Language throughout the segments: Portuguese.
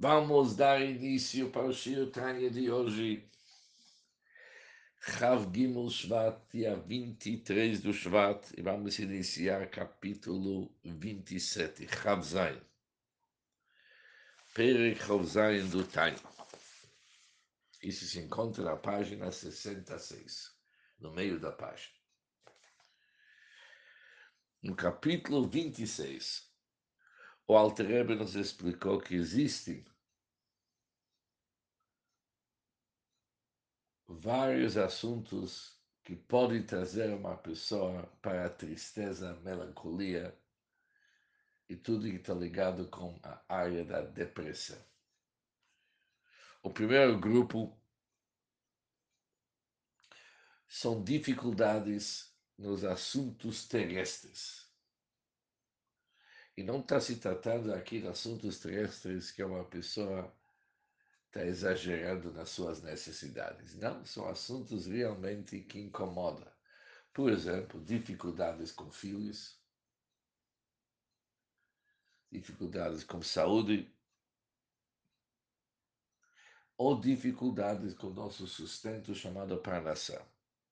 Vamos dar início para o Shir Tanya de hoje. Chav Gimel Shvat, dia 23 do Shvat, e vamos iniciar capítulo 27, Chav Zayin. Perek Chav Zayin do Tanya. Isso se encontra na página 66, no meio da página. No capítulo 26, o Alter Rebbe nos explicou que existem vários assuntos que podem trazer uma pessoa para a tristeza, a melancolia e tudo que está ligado com a área da depressão. O primeiro grupo são dificuldades nos assuntos terrestres. E não está se tratando aqui de assuntos terrestres que uma pessoa está exagerando nas suas necessidades. Não, são assuntos realmente que incomodam. Por exemplo, dificuldades com filhos, dificuldades com saúde, ou dificuldades com o nosso sustento chamado parnassá.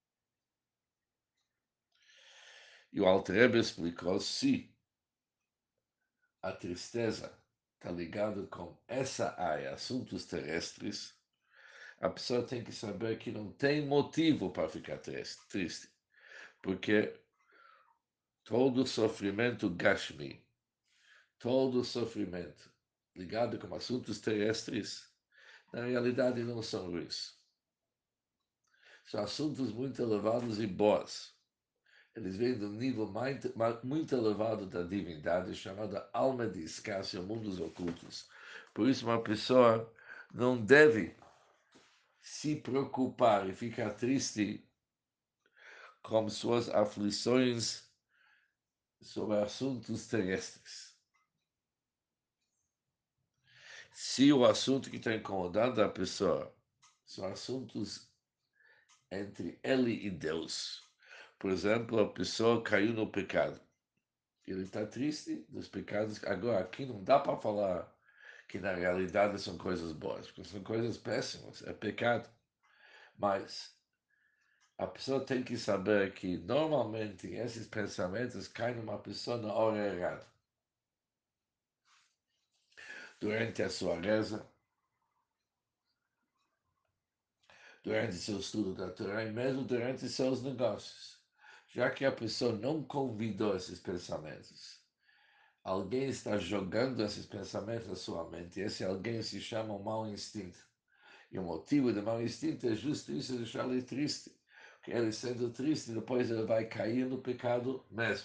E o Alter Rebbe explicou se a tristeza está ligada com essa área, assuntos terrestres, a pessoa tem que saber que não tem motivo para ficar triste, porque todo sofrimento gashmi, todo sofrimento ligado com assuntos terrestres, na realidade não são ruins. São assuntos muito elevados e bons. Eles vêm do nível muito elevado da divindade, chamada alma de Escácia, mundos ocultos. Por isso, uma pessoa não deve se preocupar e ficar triste com suas aflições sobre assuntos terrestres. Se o assunto que está incomodando a pessoa são assuntos entre ele e Deus, por exemplo, a pessoa caiu no pecado. Ele está triste dos pecados. Agora, aqui não dá para falar que na realidade são coisas boas, porque são coisas péssimas, é pecado. Mas a pessoa tem que saber que normalmente esses pensamentos caem numa pessoa na hora errada. Durante a sua reza, durante seu estudo da Torá e mesmo durante seus negócios. Já que a pessoa não convidou esses pensamentos, alguém está jogando esses pensamentos na sua mente, e esse alguém se chama o mau instinto. E o motivo do mau instinto é justo isso, deixar ele triste. Porque ele sendo triste, depois ele vai cair no pecado mesmo.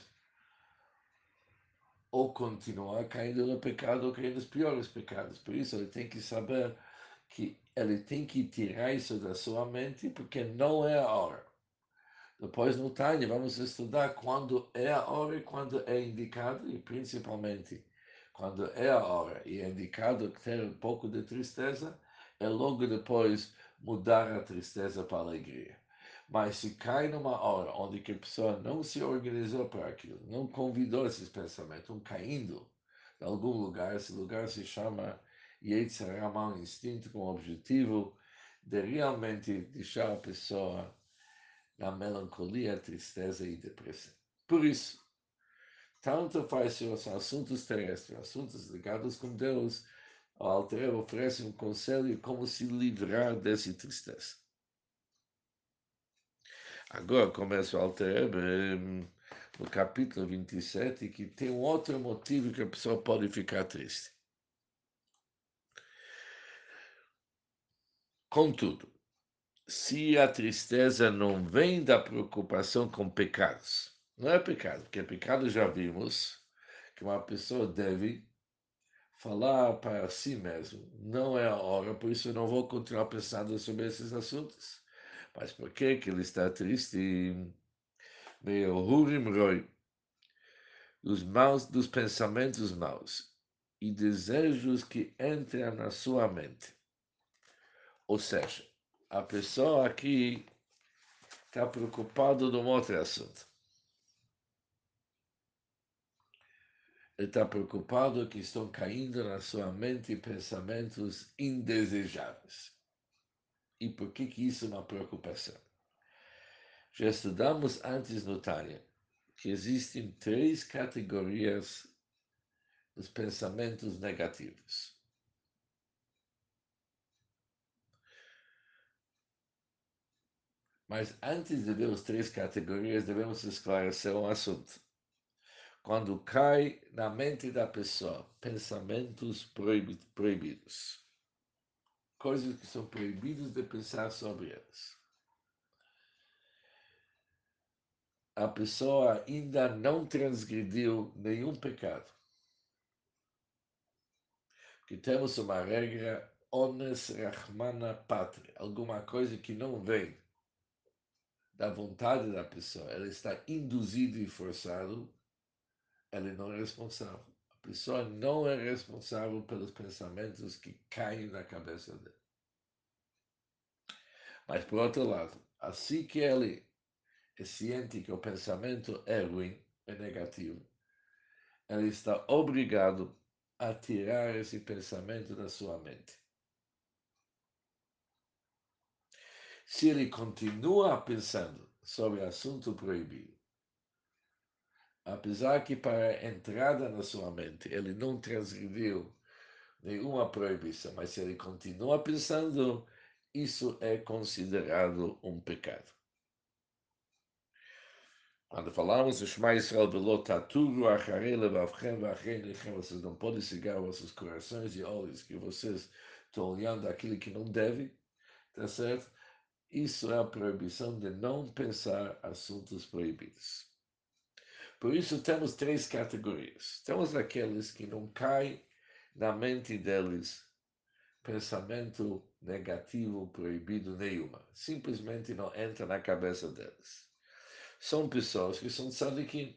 Ou continuar caindo no pecado, ou caindo nos piores pecados. Por isso ele tem que saber que ele tem que tirar isso da sua mente, porque não é a hora. Depois no Tânia vamos estudar quando é a hora e quando é indicado, e principalmente quando é a hora e é indicado ter um pouco de tristeza, é logo depois mudar a tristeza para a alegria. Mas se cai numa hora onde que a pessoa não se organizou para aquilo, não convidou esses pensamentos, estão caindo em algum lugar, esse lugar se chama Yetzirah, mau instinto, com o objetivo de realmente deixar a pessoa na melancolia, tristeza e depressão. Por isso, tanto faz se os assuntos terrestres, assuntos ligados com Deus, o Alter Rebbe oferece um conselho como se livrar dessa tristeza. Agora começa o Alter Rebbe no capítulo 27, que tem um outro motivo que a pessoa pode ficar triste. Contudo, se a tristeza não vem da preocupação com pecados, não é pecado, porque pecado já vimos que uma pessoa deve falar para si mesmo, não é a hora, por isso eu não vou continuar pensando sobre esses assuntos. Mas por que ele está triste? Meio Hurim Roi, os maus dos pensamentos maus e desejos que entram na sua mente. Ou seja, a pessoa aqui está preocupada num outro assunto. Ele está preocupado que estão caindo na sua mente pensamentos indesejáveis. E por que isso é uma preocupação? Já estudamos antes no Tânia que existem três categorias dos pensamentos negativos. Mas antes de ver as três categorias, devemos esclarecer um assunto. Quando cai na mente da pessoa pensamentos proibidos, coisas que são proibidas de pensar sobre elas, a pessoa ainda não transgrediu nenhum pecado. Que temos uma regra ones rahmana patria, alguma coisa que não vem da vontade da pessoa, ela está induzida e forçado, ela não é responsável. A pessoa não é responsável pelos pensamentos que caem na cabeça dela. Mas, por outro lado, assim que ele é ciente que o pensamento é ruim, é negativo, ele está obrigado a tirar esse pensamento da sua mente. Se ele continua pensando sobre assunto proibido, apesar que para a entrada na sua mente ele não transgrediu nenhuma proibição, mas se ele continua pensando, isso é considerado um pecado. Quando falamos de Shema Israel Belot Taturu Acharei Levavchem Vachem Lechem, vocês não podem cegar vossos corações e olhos, que vocês estão olhando aquilo que não deve, tá certo? Isso é a proibição de não pensar assuntos proibidos. Por isso temos três categorias. Temos aqueles que não caem na mente deles pensamento negativo proibido nenhuma. Simplesmente não entra na cabeça deles. São pessoas que são tzadikim.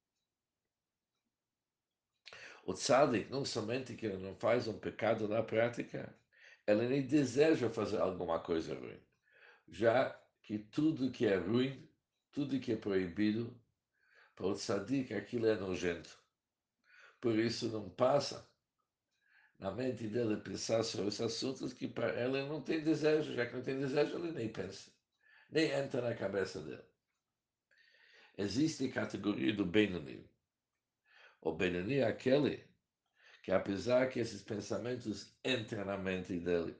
O tzadik, não somente que ele não faz um pecado na prática, ele nem deseja fazer alguma coisa ruim. Já que tudo que é ruim, tudo que é proibido, para o tzadik aquilo é nojento. Por isso não passa na mente dele pensar sobre esses assuntos que para ele não tem desejo, já que não tem desejo, ele nem pensa, nem entra na cabeça dele. Existe a categoria do Benoni. O Benoni é aquele que, apesar que esses pensamentos entram na mente dele,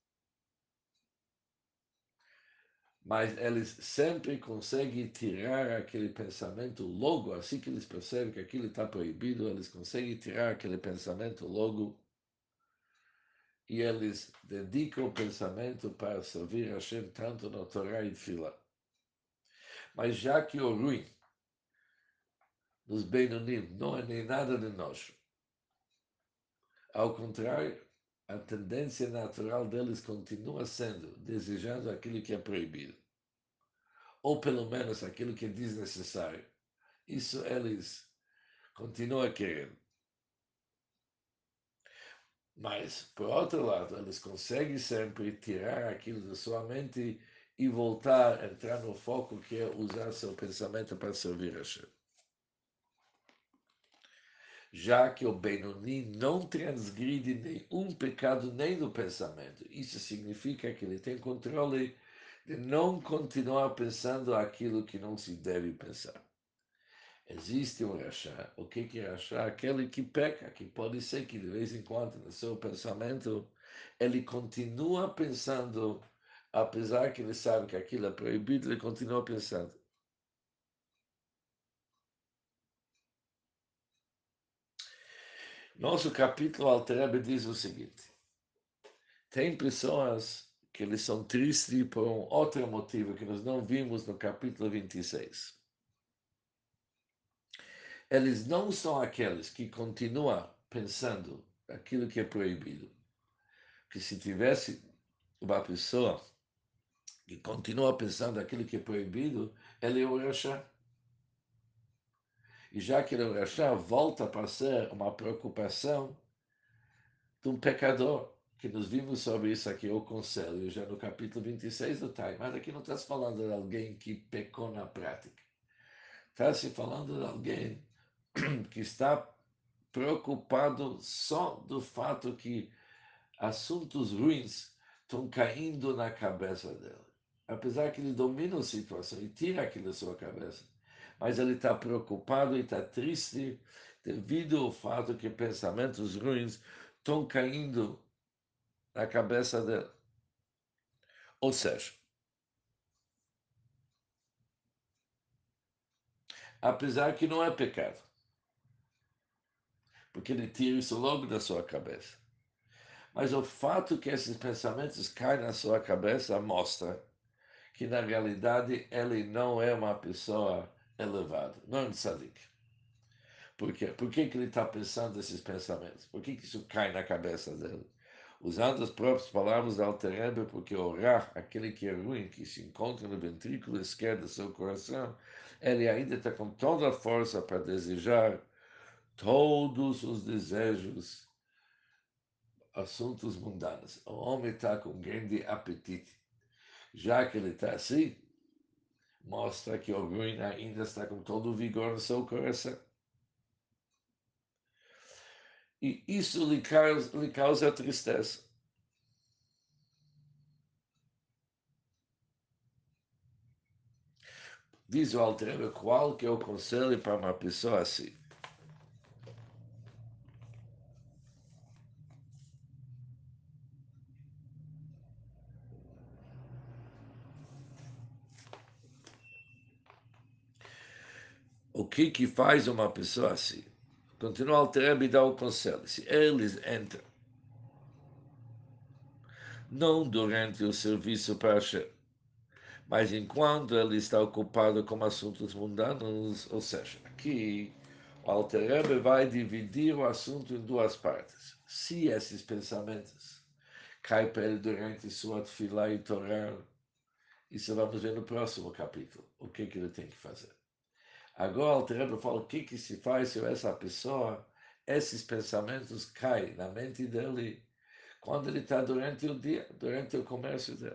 mas eles sempre conseguem tirar aquele pensamento logo, assim que eles percebem que aquilo está proibido, eles conseguem tirar aquele pensamento logo e eles dedicam o pensamento para servir a Hashem tanto na Torá e Fila. Mas já que o ruim dos Benonim não é nem nada de nós, ao contrário, a tendência natural deles continua sendo desejando aquilo que é proibido, ou pelo menos aquilo que é desnecessário. Isso eles continuam querendo. Mas, por outro lado, eles conseguem sempre tirar aquilo da sua mente e voltar a entrar no foco que é usar seu pensamento para servir a Hashem. Já que o Benoni não transgride nenhum pecado nem no pensamento. Isso significa que ele tem controle de não continuar pensando aquilo que não se deve pensar. Existe um rachá. O que é rachá? Aquele que peca, que pode ser que de vez em quando no seu pensamento ele continua pensando, apesar que ele sabe que aquilo é proibido, ele continua pensando. Nosso capítulo Alter diz o seguinte: tem pessoas que eles são tristes por um outro motivo que nós não vimos no capítulo 26. Eles não são aqueles que continuam pensando aquilo que é proibido. Que se tivesse uma pessoa que continua pensando aquilo que é proibido, ele é o Rachá. E já que ele é o Rachá, volta para ser uma preocupação de um pecador. Que nós vimos sobre isso aqui, o conselho, já no capítulo 26 do Time. Mas aqui não está se falando de alguém que pecou na prática. Está se falando de alguém que está preocupado só do fato que assuntos ruins estão caindo na cabeça dele. Apesar que ele domina a situação e tira aquilo da sua cabeça, mas ele está preocupado e está triste devido ao fato que pensamentos ruins estão caindo na cabeça dele. Ou seja, apesar que não é pecado, porque ele tira isso logo da sua cabeça. Mas o fato que esses pensamentos caem na sua cabeça mostra que, na realidade, ele não é uma pessoa elevada, não é um tzadik. Por quê? Por que, que ele está pensando esses pensamentos? Por que, que isso cai na cabeça dele? Usando as próprias palavras da Alter Rebbe, porque orar, aquele que é ruim, que se encontra no ventrículo esquerdo do seu coração, ele ainda está com toda a força para desejar todos os desejos, assuntos mundanos. O homem está com grande apetite. Já que ele está assim, mostra que o ruim ainda está com todo o vigor no seu coração. E isso lhe causa tristeza. Diz o Alter, qual que é o conselho para uma pessoa assim? O que faz uma pessoa assim? Continua o Alter e dá o conselho. Se eles entram, não durante o serviço para Hashem, mas enquanto ele está ocupado com assuntos mundanos, ou seja, aqui o Alter Rebbe vai dividir o assunto em duas partes. Se esses pensamentos caem para ele durante sua tefilá e Torá, isso vamos ver no próximo capítulo, o que ele tem que fazer. Agora o Alter Rebbe fala o que se faz se essa pessoa, esses pensamentos caem na mente dele quando ele está durante o dia, durante o comércio dele.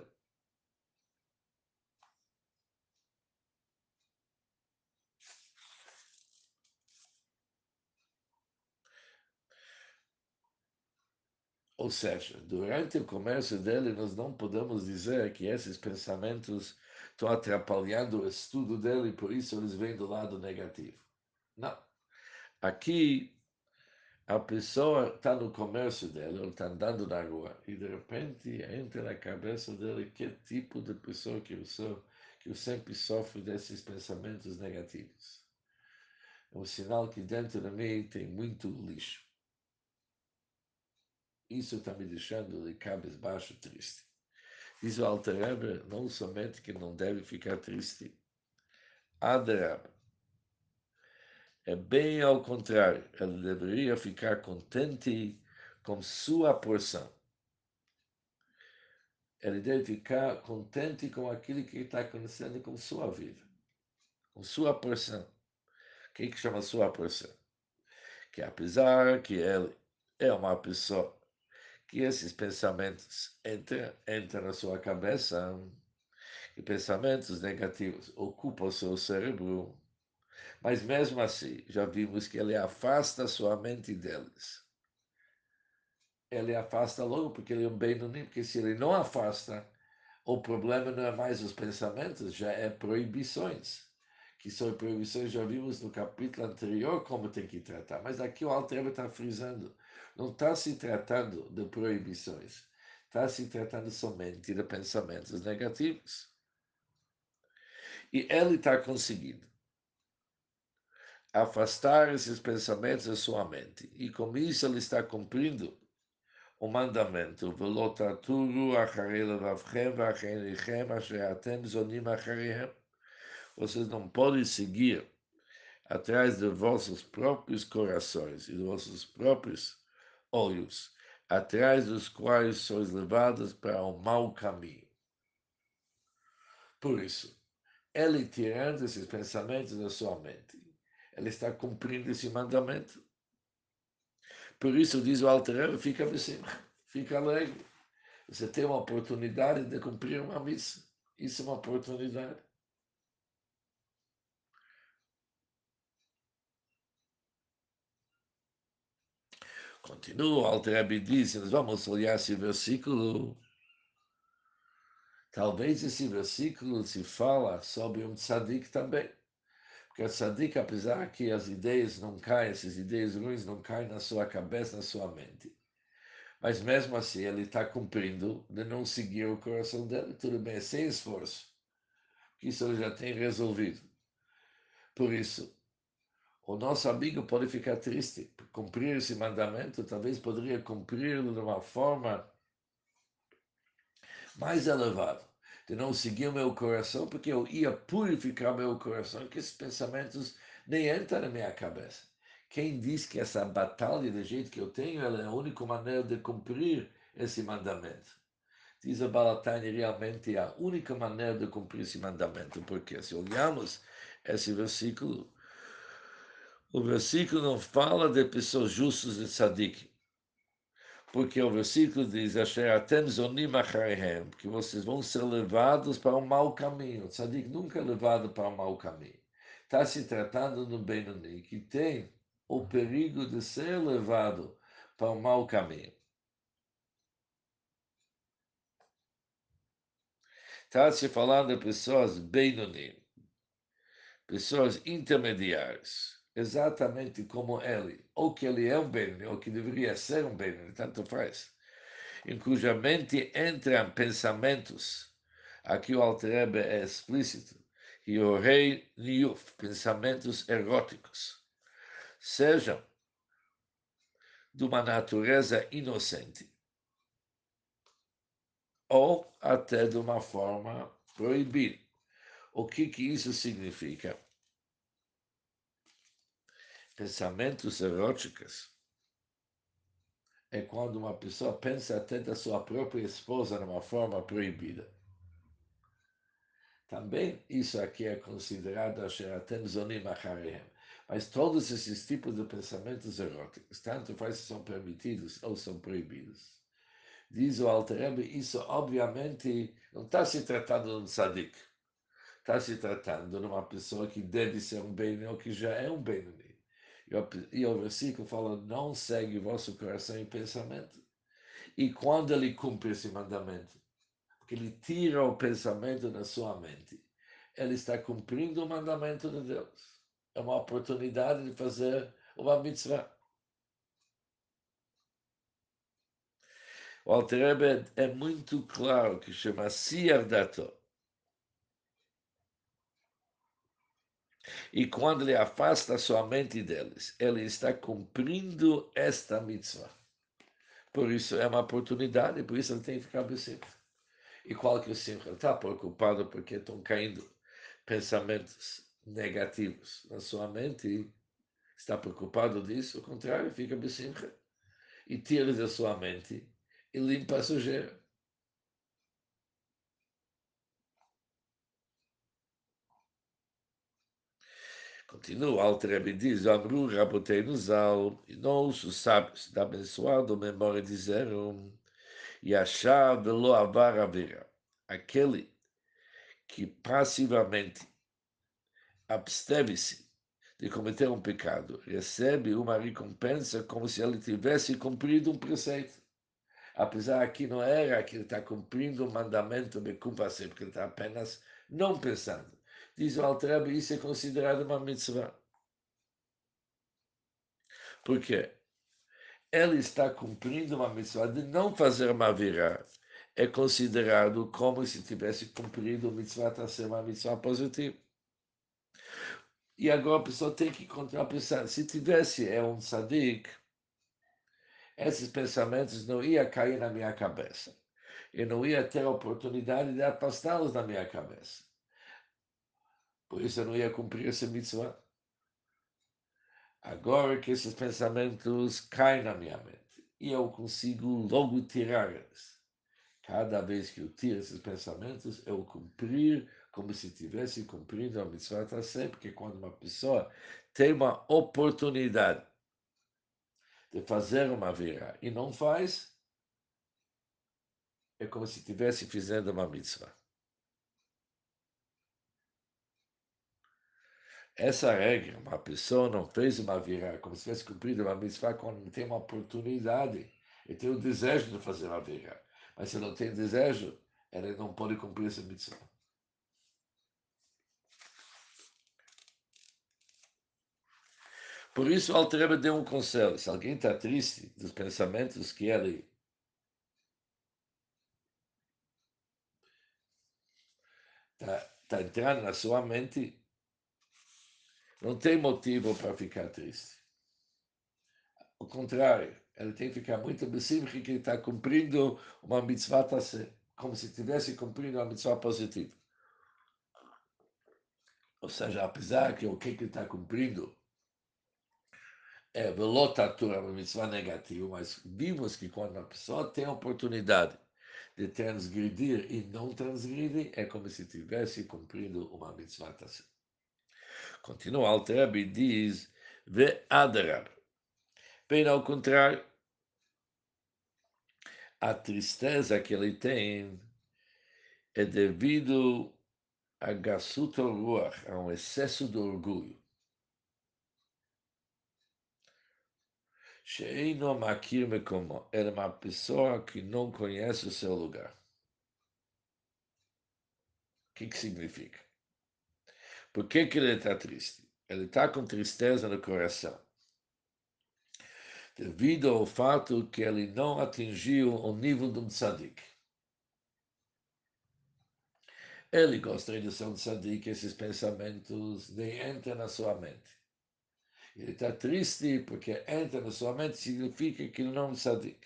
Ou seja, durante o comércio dele, nós não podemos dizer que esses pensamentos estão atrapalhando o estudo dele, por isso eles vêm do lado negativo. Não. Aqui, a pessoa está no comércio dele, ele está andando na rua, e de repente entra na cabeça dele que tipo de pessoa que eu sou, que eu sempre sofro desses pensamentos negativos. É um sinal que dentro de mim tem muito lixo. Isso está me deixando de cabisbaixo triste. Diz o Alter Rebbe, não somente que não deve ficar triste, Adarab, é bem ao contrário, ele deveria ficar contente com sua porção. Ele deve ficar contente com aquilo que está acontecendo com sua vida, com sua porção. O que chama sua porção? Que apesar que ele é uma pessoa que esses pensamentos entram na sua cabeça, e pensamentos negativos ocupam o seu cérebro, mas mesmo assim, já vimos que ele afasta a sua mente deles. Ele afasta logo porque ele é um bem-unim, porque se ele não afasta, o problema não é mais os pensamentos, já é proibições. Que são proibições, já vimos no capítulo anterior como tem que tratar. Mas aqui o Alter Rebbe está frisando. Não está se tratando de proibições. Está se tratando somente de pensamentos negativos. E ele está conseguindo afastar esses pensamentos da sua mente. E com isso ele está cumprindo o mandamento. Vocês não podem seguir atrás de vossos próprios corações e de vossos próprios olhos, atrás dos quais sois levados para o mau caminho. Por isso, ele tirando esses pensamentos da sua mente, ele está cumprindo esse mandamento. Por isso, diz o Alter Rebbe, fica assim, fica alegre. Você tem uma oportunidade de cumprir uma missa. Isso é uma oportunidade. Continua, o Alter Rebbe diz, nós vamos olhar esse versículo. Talvez esse versículo se fala sobre um tzadik também. Porque o tzadik, apesar que as ideias não caem, essas ideias ruins não caem na sua cabeça, na sua mente. Mas mesmo assim, ele está cumprindo de não seguir o coração dele. Tudo bem, sem esforço. Que isso ele já tem resolvido. Por isso, o nosso amigo pode ficar triste. Cumprir esse mandamento, talvez poderia cumpri-lo de uma forma mais elevada. De não seguir o meu coração, porque eu ia purificar meu coração, que esses pensamentos nem entram na minha cabeça. Quem diz que essa batalha, do jeito que eu tenho, ela é a única maneira de cumprir esse mandamento? Diz a Balatani, realmente é a única maneira de cumprir esse mandamento, porque se olharmos esse versículo, o versículo não fala de pessoas justas de tzadik, porque o versículo diz, Asher atem zonim acharehem, que vocês vão ser levados para um mau caminho. O tzadik nunca é levado para um mau caminho. Está se tratando do Benoni, que tem o perigo de ser levado para um mau caminho. Está se falando de pessoas Benoni, pessoas intermediárias, exatamente como ele, ou que ele é um Benoni, ou que deveria ser um Benoni, tanto faz, em cuja mente entram pensamentos, aqui o Alter Rebbe é explícito, e o rei Niuf, pensamentos eróticos, sejam de uma natureza inocente, ou até de uma forma proibida. O que isso significa? Pensamentos eróticos é quando uma pessoa pensa até da sua própria esposa de uma forma proibida. Também isso aqui é considerado Asheratem Zonim Acharehem. Mas todos esses tipos de pensamentos eróticos, tanto faz se são permitidos ou são proibidos. Diz o Alter Rebbe, isso obviamente não está se tratando de um tzadik. Está se tratando de uma pessoa que deve ser um Benoni ou que já é um Benoni. E o versículo fala, não segue vosso coração e pensamento. E quando ele cumpre esse mandamento, porque ele tira o pensamento da sua mente, ele está cumprindo o mandamento de Deus. É uma oportunidade de fazer uma mitzvah. O Alter Rebbe é muito claro que chama Siar Dato. E quando ele afasta a sua mente deles, ele está cumprindo esta mitzvah. Por isso é uma oportunidade, por isso ele tem que ficar bem. E qual que é o simcha? Ele está preocupado porque estão caindo pensamentos negativos na sua mente e está preocupado disso, ao contrário, fica besimcha e tira da sua mente e limpa a sujeira. Continua, Alter Rebbe diz, Amru Raboteinu Zal, e nós, os sábios da abençoada memória disseram, Yashar velo avar avera, aquele que passivamente absteve-se de cometer um pecado, recebe uma recompensa como se ele tivesse cumprido um preceito. Apesar que não era que ele está cumprindo o mandamento de Bekupase, porque ele está apenas não pensando. Diz o Alter Rebbe, isso é considerado uma mitzvah. Por quê? Ele está cumprindo uma mitzvah de não fazer uma virá. É considerado como se tivesse cumprido a mitzvah para ser uma mitzvah positiva. E agora a pessoa tem que continuar pensando. Se tivesse um tzadik, esses pensamentos não iam cair na minha cabeça. Eu não ia ter a oportunidade de afastá-los da minha cabeça. Por isso eu não ia cumprir essa mitzvah. Agora que esses pensamentos caem na minha mente, e eu consigo logo tirar eles. Cada vez que eu tiro esses pensamentos, eu cumprir como se tivesse cumprindo a mitzvah tassé, porque quando uma pessoa tem uma oportunidade de fazer uma virá e não faz, é como se estivesse fazendo uma mitzvah. Essa regra, uma pessoa não fez uma virá, como se tivesse cumprido uma mitzvah quando não tem uma oportunidade. Ele tem o desejo de fazer uma virá. Mas se não tem desejo, ele não pode cumprir essa mitzvah. Por isso, o Alter Rebbe deu um conselho. Se alguém está triste dos pensamentos que ele está entrando na sua mente, não tem motivo para ficar triste. Ao contrário, ele tem que ficar muito imbecível que ele está cumprindo uma mitzvah, como se estivesse cumprindo uma mitzvah positiva. Ou seja, apesar que o que ele está cumprindo é velotatura, uma mitzvah negativa, mas vimos que quando a pessoa tem a oportunidade de transgredir e não transgride, é como se estivesse cumprindo uma mitzvah. Continua o Alter Rebbe e diz, ve adarab. Bem ao contrário, a tristeza que ele tem é devido a Gassut Ruach, a um excesso de orgulho. Sheino Makir Mekomo, ele é uma pessoa que não conhece o seu lugar. O que significa? Por que ele está triste? Ele está com tristeza no coração, devido ao fato que ele não atingiu o nível de um tzadik. Ele gostaria de ser um tzadik, esses pensamentos nem entram na sua mente. Ele está triste porque entra na sua mente significa que ele não é um tzadik.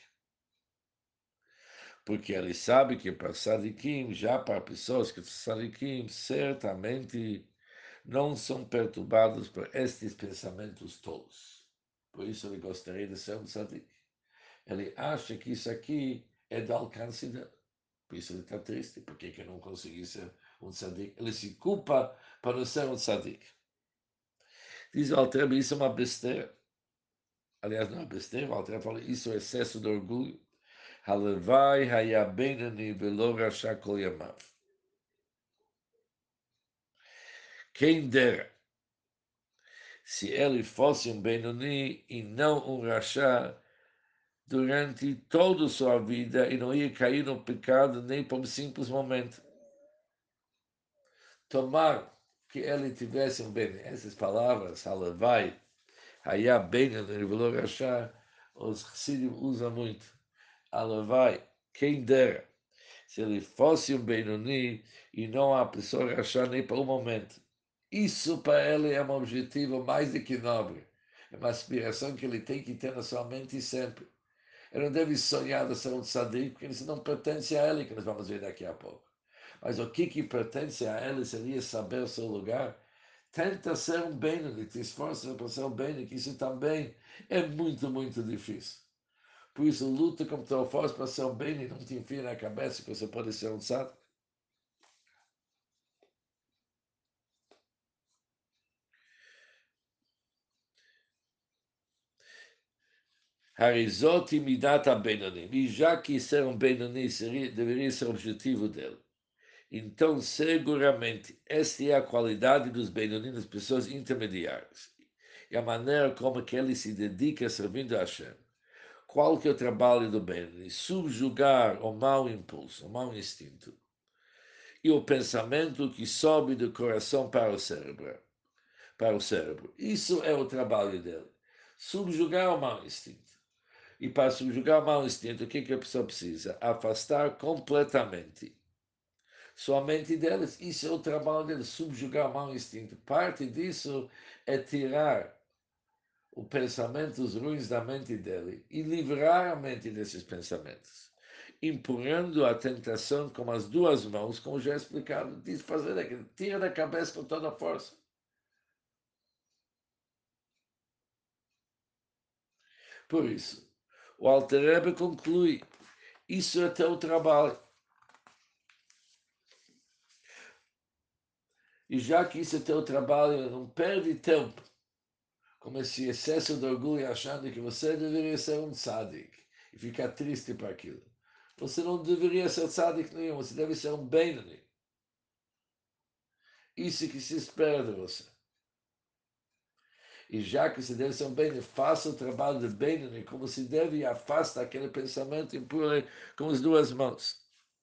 Porque ele sabe que para tzadikim, já para pessoas que são tzadikim, certamente não são perturbados por estes pensamentos tolos. Por isso ele gostaria de ser um tzadik. Ele acha que isso aqui é do alcance dele. Por isso ele está triste, porque que não conseguiu ser um tzadik. Ele se culpa para não ser um tzadik. Diz o Alter, isso é uma besteira. Aliás, não é besteira, o Alter fala, isso é excesso de orgulho. Halevai hayabenani velo rasha kol yamav. Quem dera se ele fosse um Benoni e não um Rasha durante toda a sua vida e não ia cair no pecado nem por um simples momento. Tomar que ele tivesse um Benoni. Essas palavras, Halevai, hayabenani velo rasha, os Chassidim usam muito. Halevai, quem dera se ele fosse um Benoni e não a pessoa achar nem para um momento. Isso para ele é um objetivo mais do que nobre. É uma aspiração que ele tem que ter na sua mente sempre. Ele não deve sonhar de ser um tzadik, porque isso não pertence a ele, que nós vamos ver daqui a pouco. Mas o que pertence a ele seria saber o seu lugar. Tenta ser um Benoni, te esforça para ser um Benoni, que isso também é muito, muito difícil. Por isso, luta como tua força para ser um Benoni, não te enfia na cabeça que você pode ser um tzadik. Harizot imidat Benoni. E já que ser um Benoni deveria ser o objetivo dele. Então, seguramente, esta é a qualidade dos Benoni, das pessoas intermediárias. E a maneira como que ele se dedica servindo a Hashem. Qual que é o trabalho do Benoni? Subjugar o mau impulso, o mau instinto. E o pensamento que sobe do coração para o cérebro. Para o cérebro. Isso é o trabalho dele. Subjugar o mau instinto. E para subjugar o mau instinto, o que a pessoa precisa? Afastar completamente sua mente deles. Isso é o trabalho deles, subjugar o mau instinto. Parte disso é tirar os pensamentos ruins da mente dele e livrar a mente desses pensamentos, empurrando a tentação com as duas mãos, como já explicado, diz fazer aquilo, tira da cabeça com toda a força. Por isso, o Alter Rebbe conclui, isso é teu trabalho. E já que isso é teu trabalho, não perde tempo com esse excesso de orgulho achando que você deveria ser um tzadik e ficar triste por aquilo. Você não deveria ser tzadik nenhum, você deve ser um Benoni. Isso que se espera de você. E já que se deve ser um bem, faça o trabalho de bem, como se deve, e afasta aquele pensamento impuro com as duas mãos.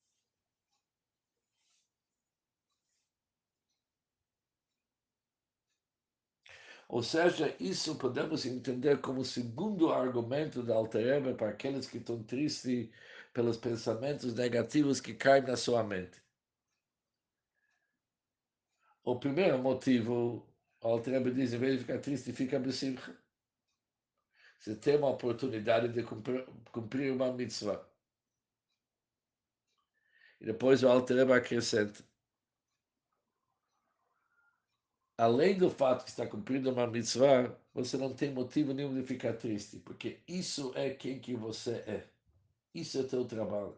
Ou seja, isso podemos entender como o segundo argumento da Alter Rebbe para aqueles que estão tristes pelos pensamentos negativos que caem na sua mente. O primeiro motivo, o Alter Rebbe diz, em vez de ficar triste, fica besimcha. Você tem uma oportunidade de cumprir uma mitzvah. E depois o Alter Rebbe acrescenta, além do fato que está cumprindo uma mitzvah, você não tem motivo nenhum de ficar triste, porque isso é quem que você é. Isso é teu trabalho.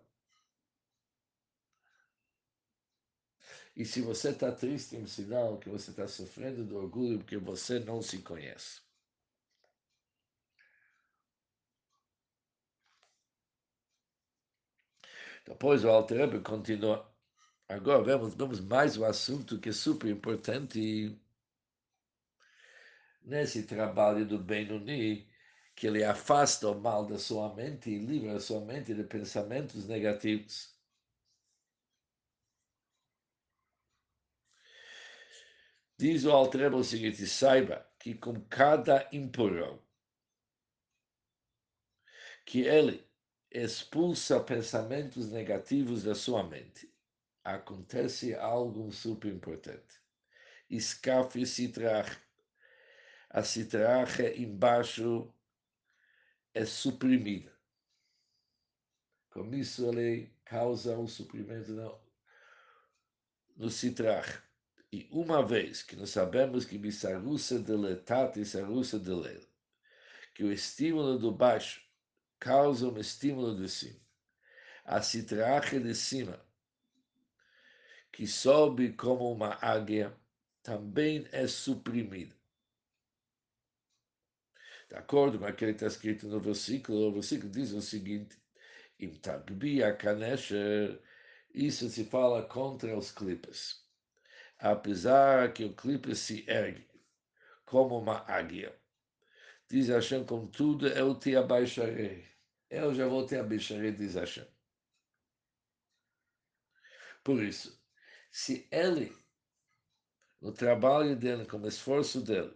E se você está triste, é um sinal que você está sofrendo do orgulho porque você não se conhece. Depois o Alter Rebbe continua. Agora vemos mais um assunto que é super importante nesse trabalho do Benoni, que ele afasta o mal da sua mente e livra a sua mente de pensamentos negativos. Diz o Alter Rebbe o seguinte, saiba que com cada empurrão que ele expulsa pensamentos negativos da sua mente, acontece algo super importante. Escafe citrach. A citracha embaixo é suprimida. Com isso, ele causa um suprimento no citrach. E uma vez que nós sabemos que Bissarusa deletat e Sarusa delel, que o estímulo do baixo causa um estímulo de cima, a citracha de cima, que sobe como uma águia, também é suprimida. De acordo com aquilo que está escrito no versículo, o versículo diz o seguinte: Im tagbi a kanesher, isso se fala contra os clipes. Apesar que o clipe se ergue como uma águia, diz Hashem, contudo, eu te abaixarei. Eu já vou te abaixarei, diz Hashem. Por isso, se ele, no trabalho dele, com o esforço dele,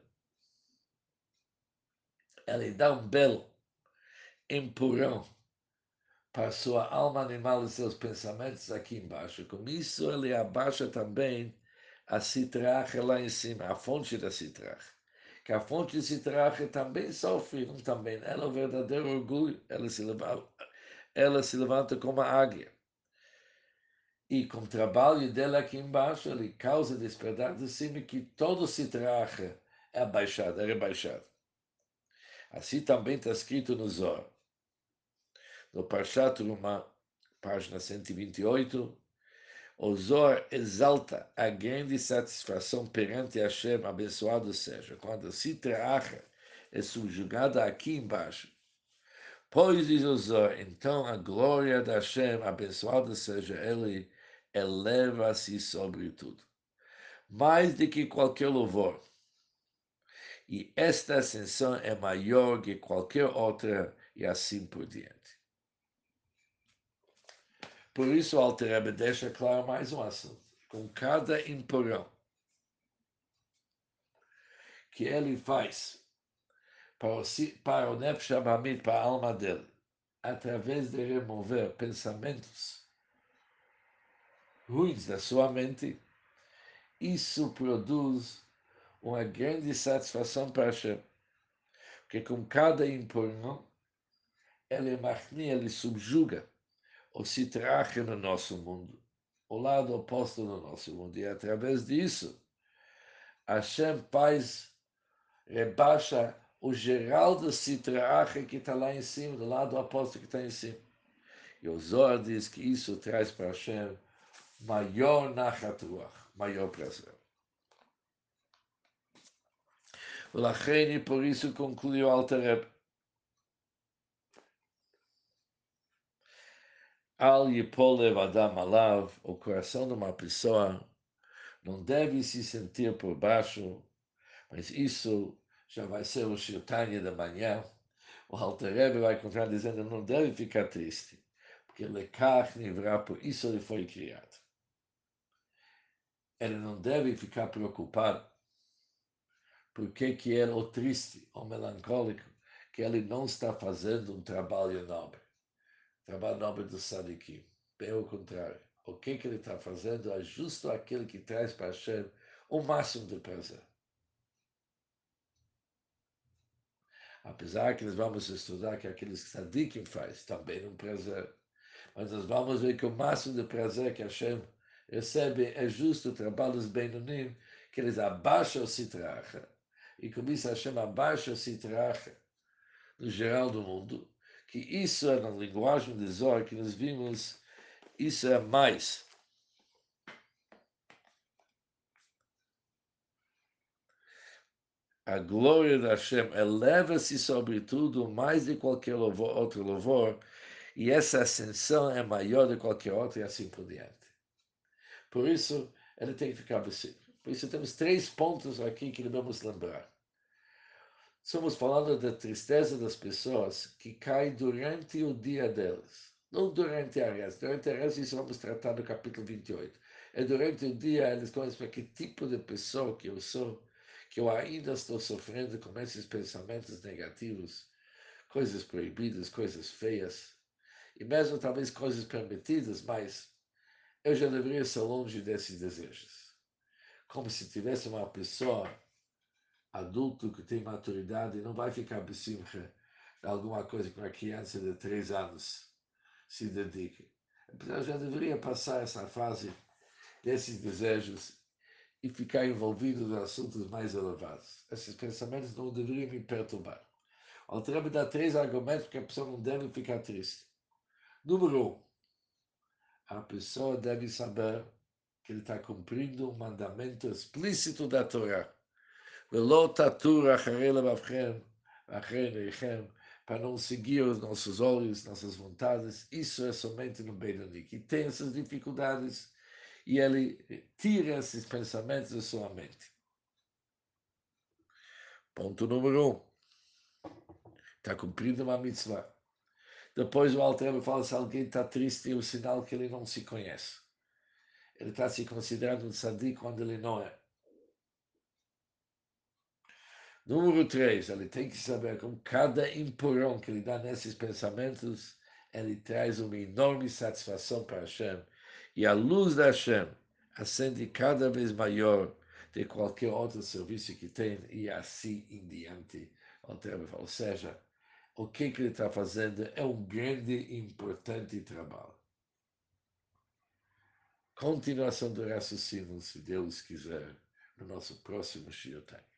ele dá um belo empurrão para a sua alma animal e seus pensamentos aqui embaixo. Com isso, ele abaixa também a citracha lá em cima, a fonte da citracha. Que a fonte de citracha também sofre, não também. Ela é o verdadeiro orgulho, ela se levanta como a águia. E com o trabalho dela aqui embaixo, ele causa despertar de cima que todo citracha é abaixado, é rebaixado. Assim também está escrito no Zohar. No Parshat Trumah, página 128, o Zohar exalta a grande satisfação perante Hashem, abençoado seja, quando a Citracha é subjugada aqui embaixo. Pois diz o Zohar, então a glória de Hashem, abençoado seja ele, eleva-se sobre tudo. Mais do que qualquer louvor. E esta ascensão é maior que qualquer outra, e assim por diante. Por isso, o Alter Rebbe deixa claro mais um assunto. Com cada empurrão que ele faz para o Nefesh Abamid, para a alma dele, através de remover pensamentos ruins da sua mente, isso produz uma grande satisfação para Hashem. Porque com cada empurrão, ele subjuga o citrache no nosso mundo, o lado oposto do nosso mundo. E através disso, Hashem faz, rebaixa o geral do citrache que está lá em cima, do lado oposto que está em cima. E o Zohar diz que isso traz para Hashem maior nachat ruach, maior prazer. E por isso concluiu Alter Rebbe. Al yipolev adam alav, o coração de uma pessoa não deve se sentir por baixo, mas isso já vai ser o Shirtanya da manhã, o Alter Rebbe vai continuar dizendo, não deve ficar triste, porque Lekach Nivra, por isso ele foi criado. Ele não deve ficar preocupado porque que ele, ou triste, ou melancólico, que ele não está fazendo um trabalho nobre do Sadikim. Bem ao contrário. O que ele está fazendo é justo aquele que traz para Hashem o máximo de prazer. Apesar que nós vamos estudar que aqueles que Sadikim faz também um prazer. Mas nós vamos ver que o máximo de prazer que Hashem recebe é justo o trabalho dos Benonim, que eles abaixam o Sitracha. E com isso Hashem abaixa o Sitracha no geral do mundo, que isso é na linguagem de Zohar que nós vimos, isso é mais. A glória de Hashem eleva-se sobre tudo mais de qualquer outro louvor, e essa ascensão é maior de qualquer outra, e assim por diante. Por isso, ele tem que ficar vencido. Por isso, temos 3 pontos aqui que devemos lembrar. Estamos falando da tristeza das pessoas que cai durante o dia delas. Não durante a reza. Durante a reza, isso vamos tratar no capítulo 28. É durante o dia, eles começam a que tipo de pessoa que eu sou, que eu ainda estou sofrendo com esses pensamentos negativos, coisas proibidas, coisas feias, e mesmo talvez coisas permitidas, mas eu já deveria ser longe desses desejos. Como se tivesse uma pessoa adulto que tem maturidade e não vai ficar besimcha de alguma coisa que uma criança de 3 anos se dedique. Eu já deveria passar essa fase desses desejos e ficar envolvido nos assuntos mais elevados. Esses pensamentos não deveriam me perturbar. O Alter dá 3 argumentos porque a pessoa não deve ficar triste. Número 1, a pessoa deve saber que ele está cumprindo um mandamento explícito da Torá. ולא תטור אחרי לבבכם, אחרי עיניכם, para não seguir os nossos olhos, nossas vontades. Isso é somente no Benoni, que tem essas dificuldades e ele tira esses pensamentos da sua mente. Ponto número 1. Está cumprindo uma mitzvah. Depois o Alter Rebbe fala se alguém está triste, é o sinal que ele não se conhece. Ele está se considerando um tzadik quando ele não é. Número 3, ele tem que saber como cada empurrão que ele dá nesses pensamentos, ele traz uma enorme satisfação para Hashem. E a luz da Hashem acende cada vez maior de qualquer outro serviço que tem, e assim em diante. Ou seja, o que ele está fazendo é um grande e importante trabalho. Continuação do raciocínio, se Deus quiser, no nosso próximo Shiur.